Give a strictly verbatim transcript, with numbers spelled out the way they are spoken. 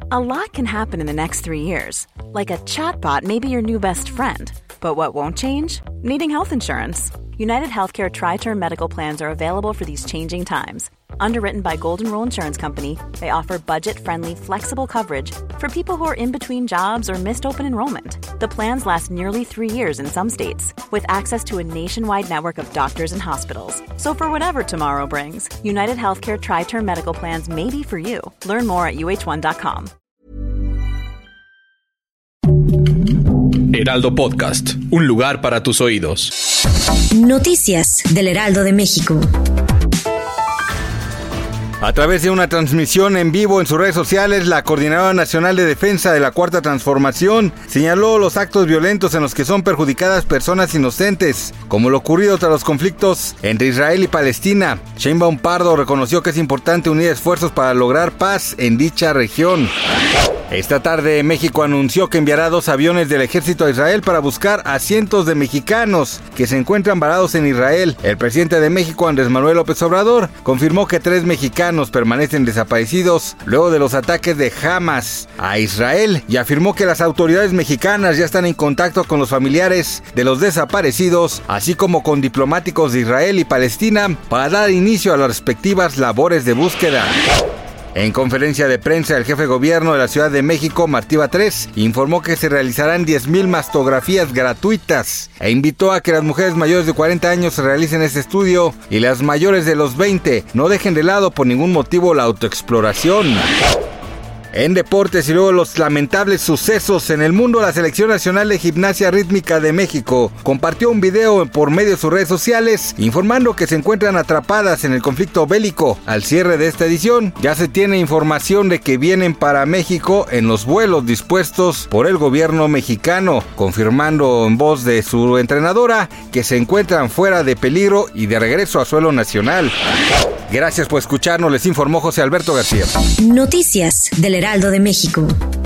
A lot can happen in the next three years. Like a chatbot may be your new best friend. But what won't change? Needing health insurance. United Healthcare Tri-Term Medical Plans are available for these changing times. Underwritten by Golden Rule Insurance Company, they offer budget-friendly, flexible coverage for people who are in between jobs or missed open enrollment. The plans last nearly three years in some states, with access to a nationwide network of doctors and hospitals. So for whatever tomorrow brings, United Healthcare Tri-Term Medical Plans may be for you. Learn more at U H one dot com. Heraldo Podcast, un lugar para tus oídos. Noticias del Heraldo de México. A través de una transmisión en vivo en sus redes sociales, la Coordinadora Nacional de Defensa de la Cuarta Transformación señaló los actos violentos en los que son perjudicadas personas inocentes, como lo ocurrido tras los conflictos entre Israel y Palestina. Sheinbaum Pardo reconoció que es importante unir esfuerzos para lograr paz en dicha región. Esta tarde, México anunció que enviará dos aviones del ejército a Israel para buscar a cientos de mexicanos que se encuentran varados en Israel. El presidente de México, Andrés Manuel López Obrador, confirmó que tres mexicanos permanecen desaparecidos luego de los ataques de Hamas a Israel y afirmó que las autoridades mexicanas ya están en contacto con los familiares de los desaparecidos, así como con diplomáticos de Israel y Palestina para dar inicio a las respectivas labores de búsqueda. En conferencia de prensa, el jefe de gobierno de la Ciudad de México, Martí Batres, informó que se realizarán diez mil mastografías gratuitas e invitó a que las mujeres mayores de cuarenta años realicen este estudio y las mayores de los veinte no dejen de lado por ningún motivo la autoexploración. En deportes y luego los lamentables sucesos en el mundo, la Selección Nacional de Gimnasia Rítmica de México compartió un video por medio de sus redes sociales informando que se encuentran atrapadas en el conflicto bélico. Al cierre de esta edición, ya se tiene información de que vienen para México en los vuelos dispuestos por el gobierno mexicano, confirmando en voz de su entrenadora que se encuentran fuera de peligro y de regreso a suelo nacional. Gracias por escucharnos, les informó José Alberto García. Noticias del Heraldo de México.